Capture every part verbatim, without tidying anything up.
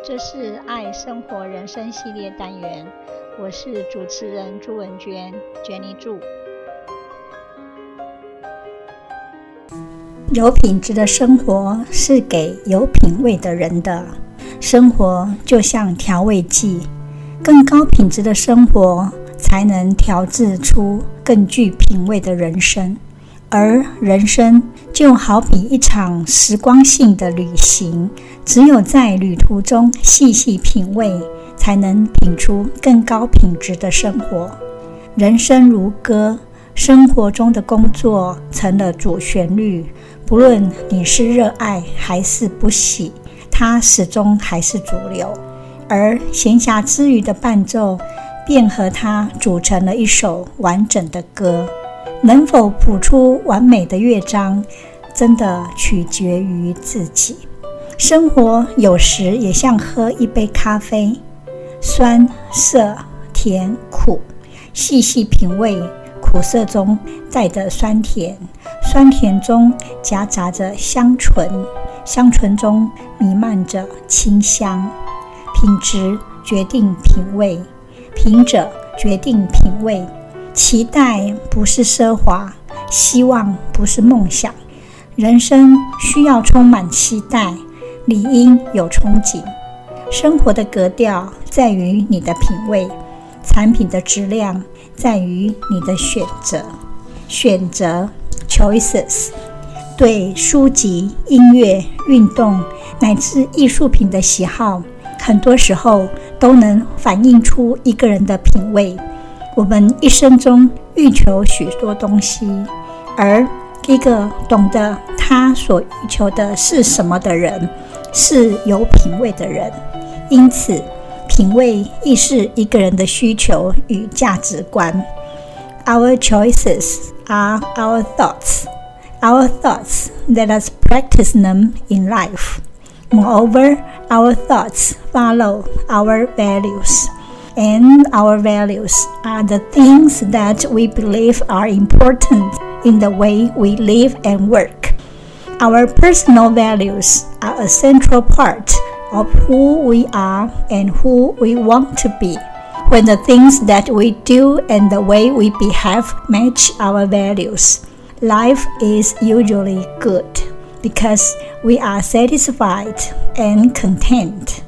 這是愛生活人生系列單元，我是主持人朱文娟 Jenny 朱。有品質的生活是給有品味的人的，生活就像調味劑，更高品質的生活才能調製出更具品味的人生。而人生就好比一場時光性的旅行，只有在旅途中細細品味，才能品出更高品質的生活。人生如歌，生活中的工作成了主旋律，不論你是熱愛還是不喜，它始終還是主流。而閒暇之餘的伴奏，便和它組成了一首完整的歌。能否譜出完美的樂章，真的取決於自己。生活有時也像喝一杯咖啡，酸、澀、甜、苦，細細品味，苦澀中帶着酸甜，酸甜中夾雜着香醇，香醇中彌漫着清香。品質決定品味，品者決定品味。期待不是奢華，希望不是夢想。人生需要充滿期待，理應有憧憬。生活的格調在於你的品味，產品的質量在於你的選擇。選擇 choices， 對書籍、音樂、運動乃至藝術品的喜好，很多時候都能反映出一個人的品味。我們一生中欲求許多東西，而一個懂得他所欲求的是什麼的人，是有品味的人。因此，品味亦是一個人的需求與價值觀。Our choices are our thoughts. Our thoughts, let us practice them in life. Moreover, our thoughts follow our values.And our values are the things that we believe are important in the way we live and work. Our personal values are a central part of who we are and who we want to be. When the things that we do and the way we behave match our values, life is usually good because we are satisfied and content.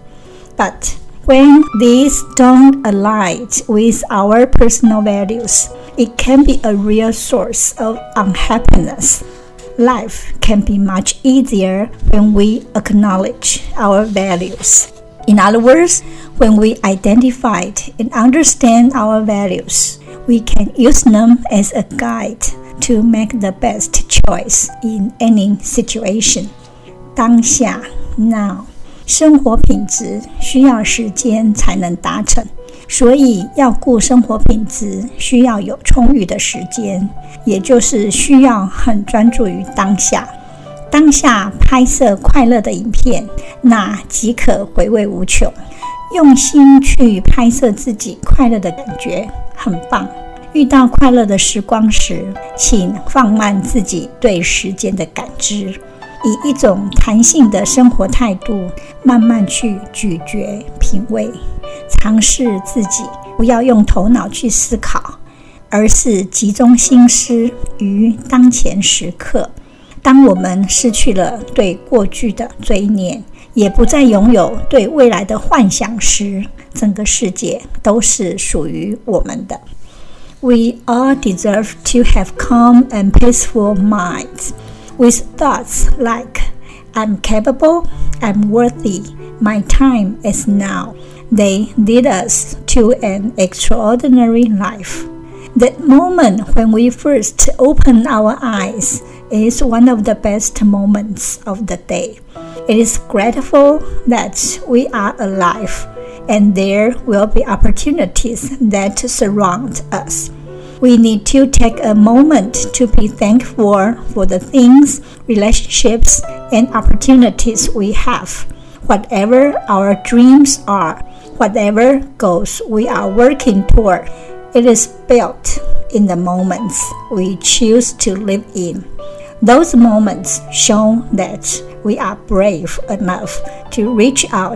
But,When these don't align with our personal values, it can be a real source of unhappiness. Life can be much easier when we acknowledge our values. In other words, when we identify and understand our values, we can use them as a guide to make the best choice in any situation. 當下 now.生活品質需要時間才能達成，所以要顧生活品質需要有充裕的時間，也就是需要很專注於當下。當下拍攝快樂的影片，那即可回味無窮。用心去拍攝自己快樂的感覺，很棒。遇到快樂的時光時，請放慢自己對時間的感知。以一種彈性的生活態度，慢慢去咀嚼、品味，嘗試自己，不要用頭腦去思考，而是集中心思於當前時刻。當我們失去了對過去的追念，也不再擁有對未來的幻想時，整個世界都是屬於我們的。We all deserve to have calm and peaceful minds.With thoughts like, I'm capable, I'm worthy, my time is now. They lead us to an extraordinary life. That moment when we first open our eyes is one of the best moments of the day. It is grateful that we are alive, and there will be opportunities that surround us.We need to take a moment to be thankful for the things, relationships, and opportunities we have. Whatever our dreams are, whatever goals we are working toward, it is built in the moments we choose to live in. Those moments show that we are brave enough to reach out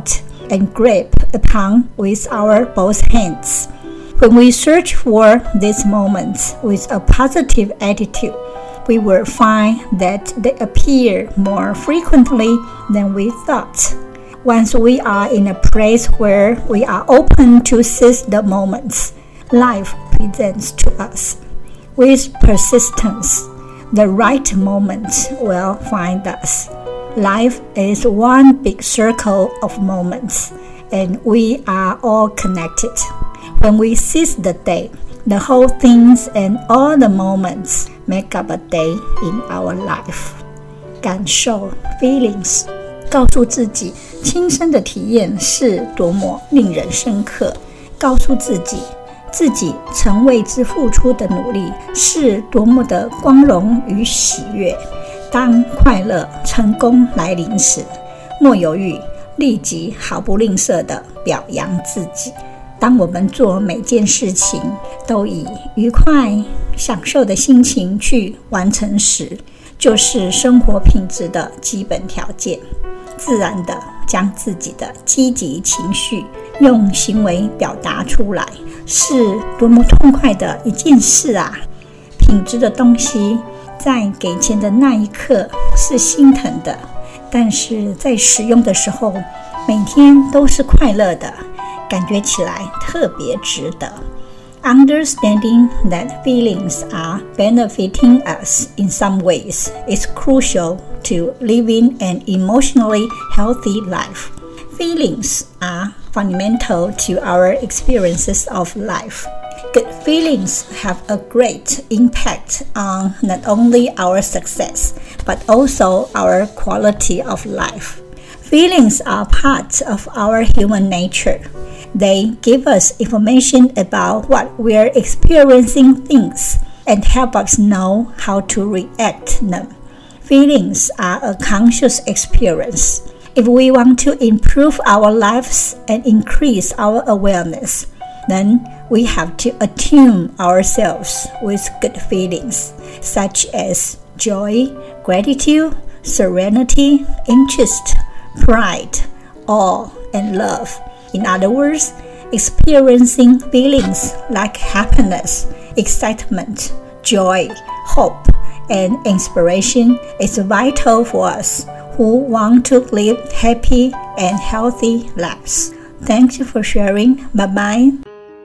and grip upon with our both hands. When we search for these moments with a positive attitude, we will find that they appear more frequently than we thought. Once we are in a place where we are open to seize the moments life presents to us, with persistence, the right moments will find us. Life is one big circle of moments, and we are all connected. When we seize the day, the whole things and all the moments make up a day in our life. 感受 feelings， 告訴自己親身的體驗是多麼令人深刻，告訴自己自己曾為之付出的努力是多麼的光榮與喜悅。當快樂成功來臨時，莫猶豫，立即毫不吝嗇地表揚自己。當我們做每件事情都以愉快享受的心情去完成時，就是生活品質的基本條件。自然地將自己的積極情緒用行為表達出來，是多麼痛快的一件事啊！品質的東西在給錢的那一刻是心疼的，但是在使用的時候，每天都是快樂的，感覺起來特別值得。Understanding that feelings are benefiting us in some ways is crucial to living an emotionally healthy life. Feelings are fundamental to our experiences of life. Good feelings have a great impact on not only our success, but also our quality of life. Feelings are part of our human nature. They give us information about what we're experiencing things and help us know how to react to them. Feelings are a conscious experience. If we want to improve our lives and increase our awareness, then we have to attune ourselves with good feelings, such as joy, gratitude, serenity, interest, pride, awe, and love. In other words, experiencing feelings like happiness, excitement, joy, hope, and inspiration is vital for us who want to live happy and healthy lives. Thank you for sharing. Bye-bye.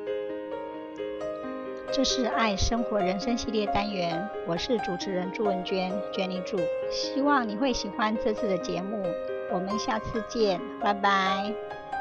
这是愛生活人生系列單元，我是主持人朱文娟 Jenny 朱，希望你會喜歡這次的節目，我們下次見，拜拜。